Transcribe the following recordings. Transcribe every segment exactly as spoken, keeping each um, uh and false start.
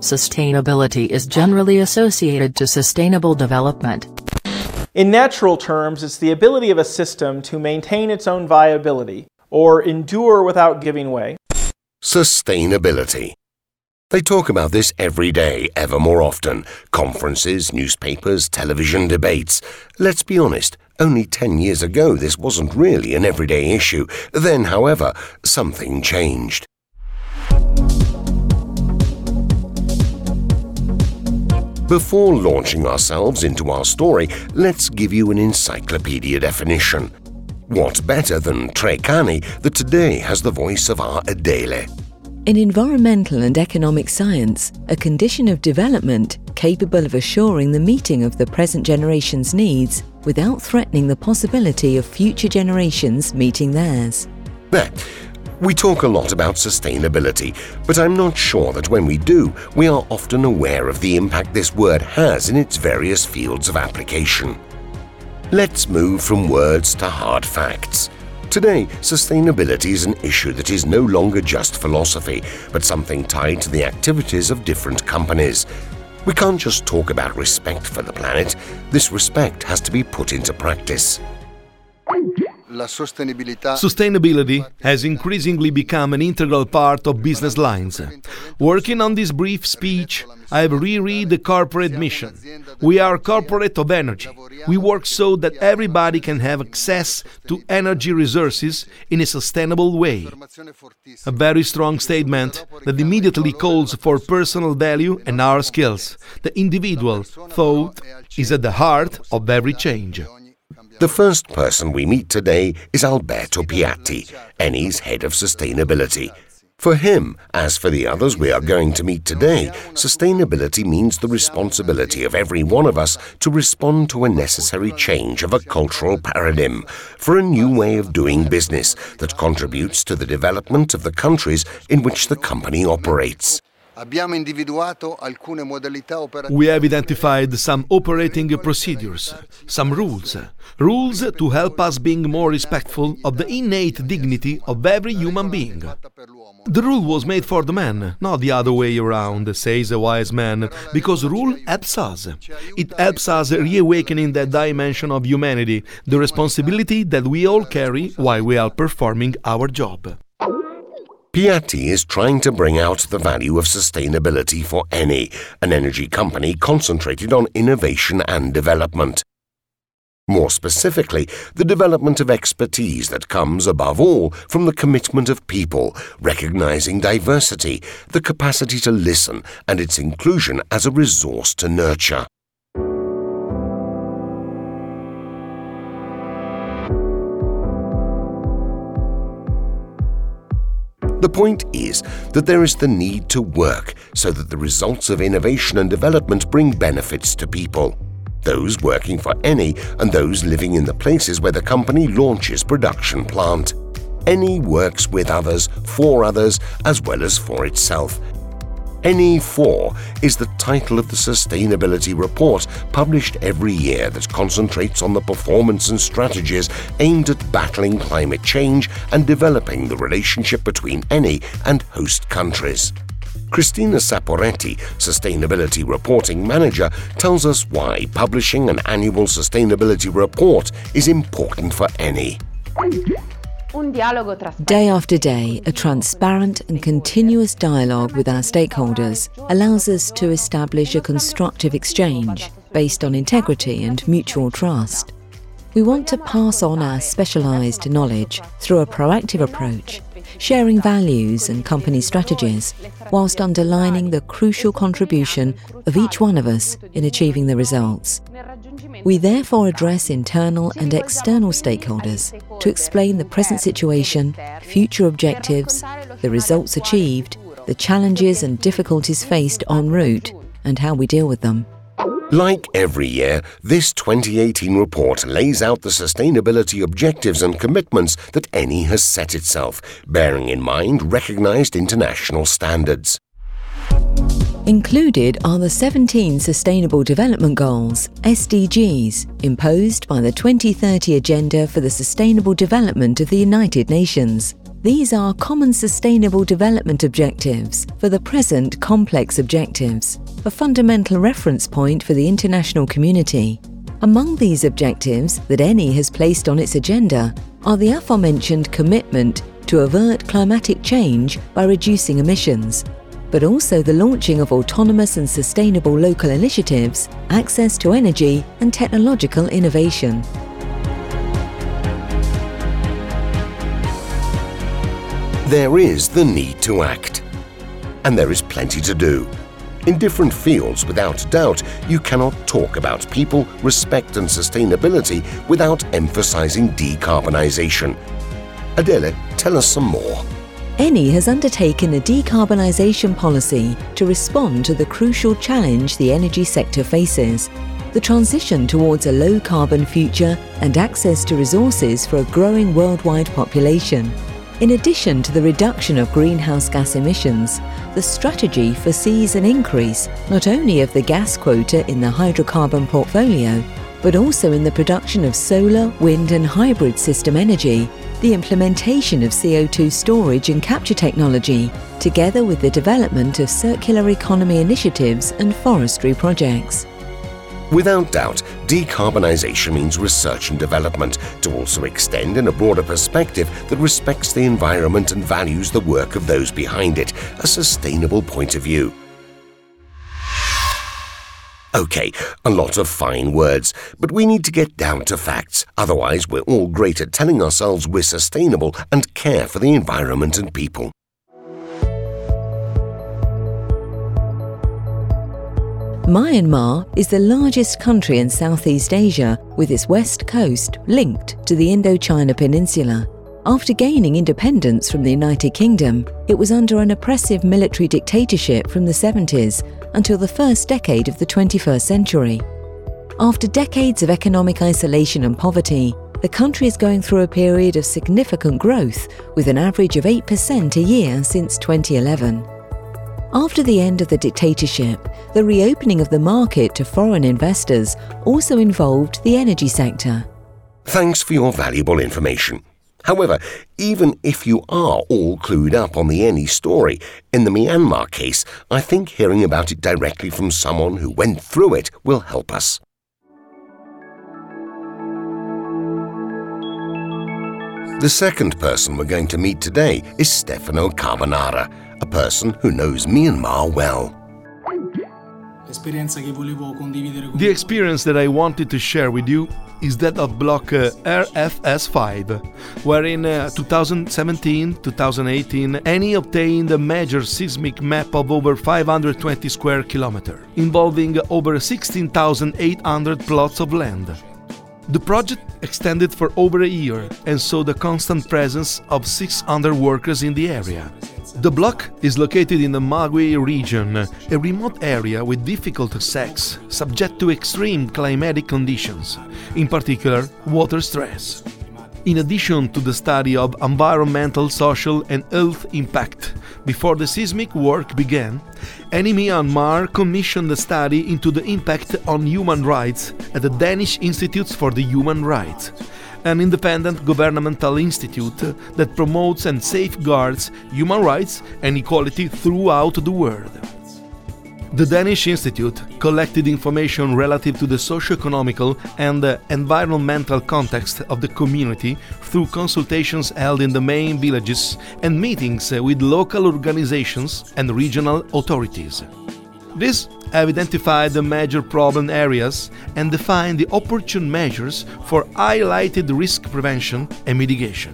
Sustainability is generally associated to sustainable development. In natural terms, it's the ability of a system to maintain its own viability, or endure without giving way. Sustainability. They talk about this every day, ever more often. Conferences, newspapers, television debates. Let's be honest, only ten years ago this wasn't really an everyday issue. Then, however, something changed. Before launching ourselves into our story, let's give you an encyclopedia definition. What better than Treccani, that today has the voice of our Adele? In environmental and economic science, a condition of development capable of assuring the meeting of the present generation's needs without threatening the possibility of future generations meeting theirs. There. We talk a lot about sustainability, but I'm not sure that when we do, we are often aware of the impact this word has in its various fields of application. Let's move from words to hard facts. Today, sustainability is an issue that is no longer just philosophy, but something tied to the activities of different companies. We can't just talk about respect for the planet. This respect has to be put into practice. Sustainability has increasingly become an integral part of business lines. Working on this brief speech, I have reread the corporate mission. We are corporate of energy. We work so that everybody can have access to energy resources in a sustainable way. A very strong statement that immediately calls for personal value and our skills. The individual thought is at the heart of every change. The first person we meet today is Alberto Piatti, Eni's head of sustainability. For him, as for the others we are going to meet today, sustainability means the responsibility of every one of us to respond to a necessary change of a cultural paradigm, for a new way of doing business that contributes to the development of the countries in which the company operates. We have identified some operating procedures, some rules, rules to help us being more respectful of the innate dignity of every human being. The rule was made for the man, not the other way around, says a wise man, because rule helps us. It helps us reawakening that dimension of humanity, the responsibility that we all carry while we are performing our job. Piatti is trying to bring out the value of sustainability for Eni, an energy company concentrated on innovation and development. More specifically, the development of expertise that comes, above all, from the commitment of people, recognizing diversity, the capacity to listen, and its inclusion as a resource to nurture. The point is that there is the need to work so that the results of innovation and development bring benefits to people, those working for Eni and those living in the places where the company launches production plant. Eni works with others, for others, as well as for itself. Eni four is the title of the sustainability report published every year that concentrates on the performance and strategies aimed at battling climate change and developing the relationship between Eni and host countries. Cristina Saporetti, Sustainability Reporting Manager, tells us why publishing an annual sustainability report is important for Eni. Day after day, a transparent and continuous dialogue with our stakeholders allows us to establish a constructive exchange based on integrity and mutual trust. We want to pass on our specialised knowledge through a proactive approach, sharing values and company strategies, whilst underlining the crucial contribution of each one of us in achieving the results. We therefore address internal and external stakeholders to explain the present situation, future objectives, the results achieved, the challenges and difficulties faced en route, and how we deal with them. Like every year, this twenty eighteen report lays out the sustainability objectives and commitments that Eni has set itself, bearing in mind recognised international standards. Included are the seventeen Sustainable Development Goals, S D Gs, imposed by the twenty thirty Agenda for the Sustainable Development of the United Nations. These are common sustainable development objectives for the present complex objectives, a fundamental reference point for the international community. Among these objectives that E N I has placed on its agenda are the aforementioned commitment to avert climatic change by reducing emissions, but also the launching of autonomous and sustainable local initiatives, access to energy and technological innovation. There is the need to act. And there is plenty to do. In different fields, without doubt, you cannot talk about people, respect and sustainability without emphasizing decarbonisation. Adele, tell us some more. E N I has undertaken a decarbonisation policy to respond to the crucial challenge the energy sector faces, the transition towards a low-carbon future and access to resources for a growing worldwide population. In addition to the reduction of greenhouse gas emissions, the strategy foresees an increase not only of the gas quota in the hydrocarbon portfolio, but also in the production of solar, wind and hybrid system energy, the implementation of C O two storage and capture technology, together with the development of circular economy initiatives and forestry projects. Without doubt, decarbonisation means research and development to also extend in a broader perspective that respects the environment and values the work of those behind it, a sustainable point of view. Okay, a lot of fine words, but we need to get down to facts, otherwise we're all great at telling ourselves we're sustainable and care for the environment and people. Myanmar is the largest country in Southeast Asia, with its west coast linked to the Indochina Peninsula. After gaining independence from the United Kingdom, it was under an oppressive military dictatorship from the seventies until the first decade of the twenty-first century. After decades of economic isolation and poverty, the country is going through a period of significant growth, with an average of eight percent a year since twenty eleven. After the end of the dictatorship, the reopening of the market to foreign investors also involved the energy sector. Thanks for your valuable information. However, even if you are all clued up on the E N I story, in the Myanmar case, I think hearing about it directly from someone who went through it will help us. The second person we're going to meet today is Stefano Carbonara, a person who knows Myanmar well. The experience that I wanted to share with you is that of block uh, R F S five, where in uh, twenty seventeen to twenty eighteen E N I obtained a major seismic map of over five hundred twenty square kilometers, involving over sixteen thousand eight hundred plots of land. The project extended for over a year and saw the constant presence of six hundred workers in the area. The block is located in the Magui region, a remote area with difficult access, subject to extreme climatic conditions, in particular water stress. In addition to the study of environmental, social and health impact, before the seismic work began, E N I Myanmar commissioned a study into the impact on human rights at the Danish Institute for the Human Rights, an independent governmental institute that promotes and safeguards human rights and equality throughout the world. The Danish Institute collected information relative to the socio-economical and uh, environmental context of the community through consultations held in the main villages and meetings uh, with local organizations and regional authorities. This have identified the major problem areas and defined the opportune measures for highlighted risk prevention and mitigation.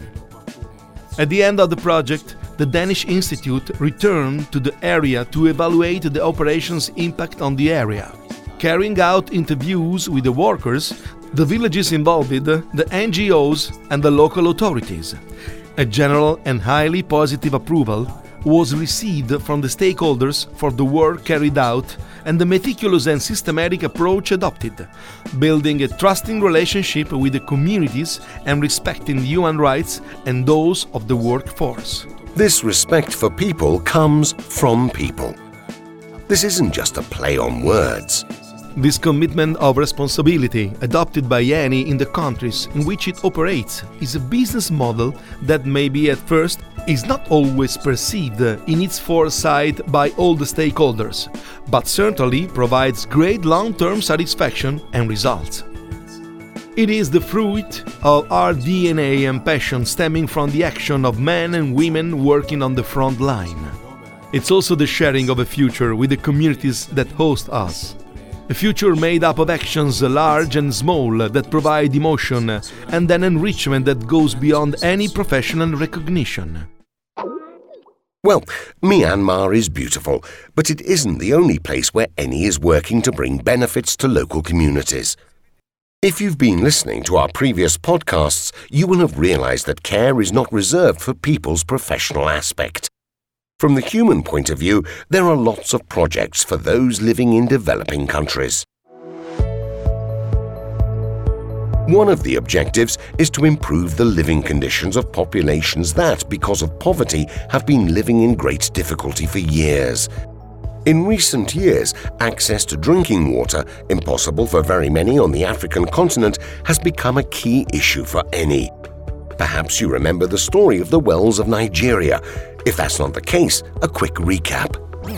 At the end of the project, the Danish Institute returned to the area to evaluate the operation's impact on the area, carrying out interviews with the workers, the villages involved, the N G Os and the local authorities. A general and highly positive approval was received from the stakeholders for the work carried out and the meticulous and systematic approach adopted, building a trusting relationship with the communities and respecting human rights and those of the workforce. This respect for people comes from people. This isn't just a play on words. This commitment of responsibility adopted by Eni in the countries in which it operates is a business model that maybe at first is not always perceived in its foresight by all the stakeholders, but certainly provides great long-term satisfaction and results. It is the fruit of our D N A and passion stemming from the action of men and women working on the front line. It's also the sharing of a future with the communities that host us. A future made up of actions large and small that provide emotion and an enrichment that goes beyond any professional recognition. Well, Myanmar is beautiful, but it isn't the only place where Eni is working to bring benefits to local communities. If you've been listening to our previous podcasts, you will have realized that care is not reserved for people's professional aspect. From the human point of view, there are lots of projects for those living in developing countries. One of the objectives is to improve the living conditions of populations that, because of poverty, have been living in great difficulty for years. In recent years, access to drinking water, impossible for very many on the African continent, has become a key issue for Eni. Perhaps you remember the story of the wells of Nigeria. If that's not the case, a quick recap.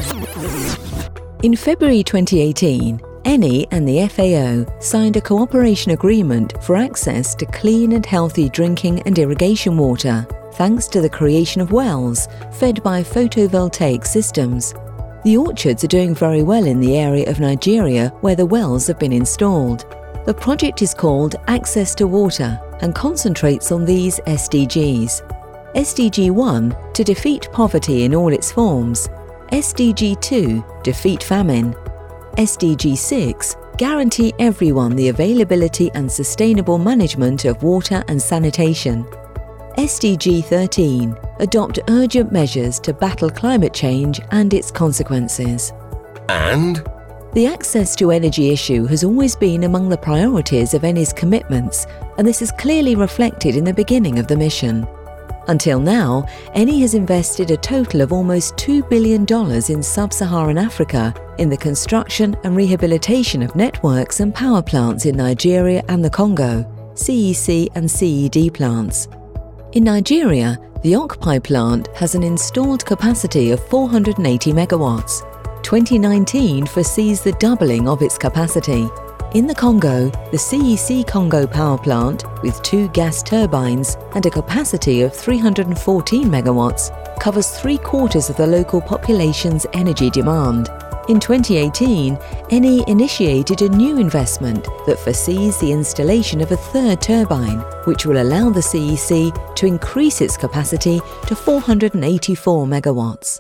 In February twenty eighteen, Eni and the F A O signed a cooperation agreement for access to clean and healthy drinking and irrigation water, thanks to the creation of wells fed by photovoltaic systems. The orchards are doing very well in the area of Nigeria where the wells have been installed. The project is called Access to Water and concentrates on these S D Gs. S D G one, to defeat poverty in all its forms. S D G two, defeat famine. S D G six, guarantee everyone the availability and sustainable management of water and sanitation. S D G thirteen, adopt urgent measures to battle climate change and its consequences. And? The access to energy issue has always been among the priorities of Eni's commitments, and this is clearly reflected in the beginning of the mission. Until now, Eni has invested a total of almost two billion dollars in sub-Saharan Africa in the construction and rehabilitation of networks and power plants in Nigeria and the Congo, C E C and C E D plants. In Nigeria, the Okpai plant has an installed capacity of four hundred eighty megawatts. twenty nineteen foresees the doubling of its capacity. In the Congo, the C E C Congo power plant, with two gas turbines and a capacity of three hundred fourteen megawatts, covers three quarters of the local population's energy demand. In twenty eighteen, Eni initiated a new investment that foresees the installation of a third turbine, which will allow the C E C to increase its capacity to four hundred eighty-four megawatts.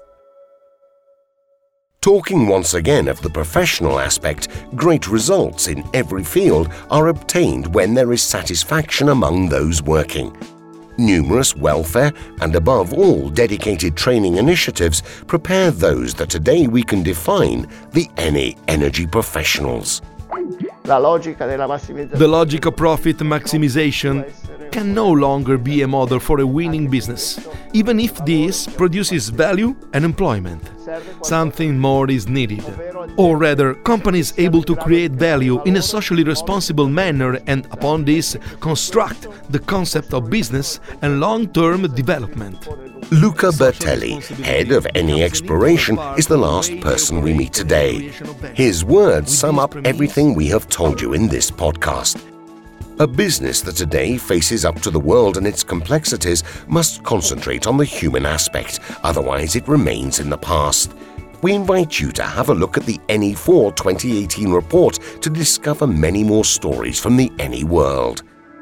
Talking once again of the professional aspect, great results in every field are obtained when there is satisfaction among those working. Numerous welfare and, above all, dedicated training initiatives prepare those that today we can define the Eni energy professionals. The logic of profit maximization can no longer be a model for a winning business, even if this produces value and employment. Something more is needed. Or rather, companies able to create value in a socially responsible manner and upon this construct the concept of business and long-term development. Luca Bertelli, head of Eni Exploration, is the last person we meet today. His words sum up everything we have told you in this podcast. A business that today faces up to the world and its complexities must concentrate on the human aspect, otherwise it remains in the past. We invite you to have a look at the Eni four twenty eighteen report to discover many more stories from the Eni world.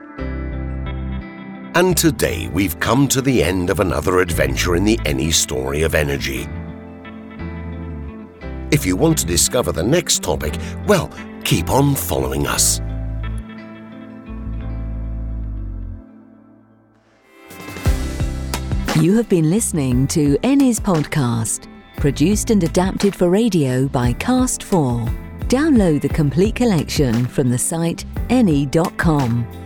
And today we've come to the end of another adventure in the Eni story of energy. If you want to discover the next topic, well, keep on following us. You have been listening to Eni's podcast, produced and adapted for radio by Cast four. Download the complete collection from the site eni dot com.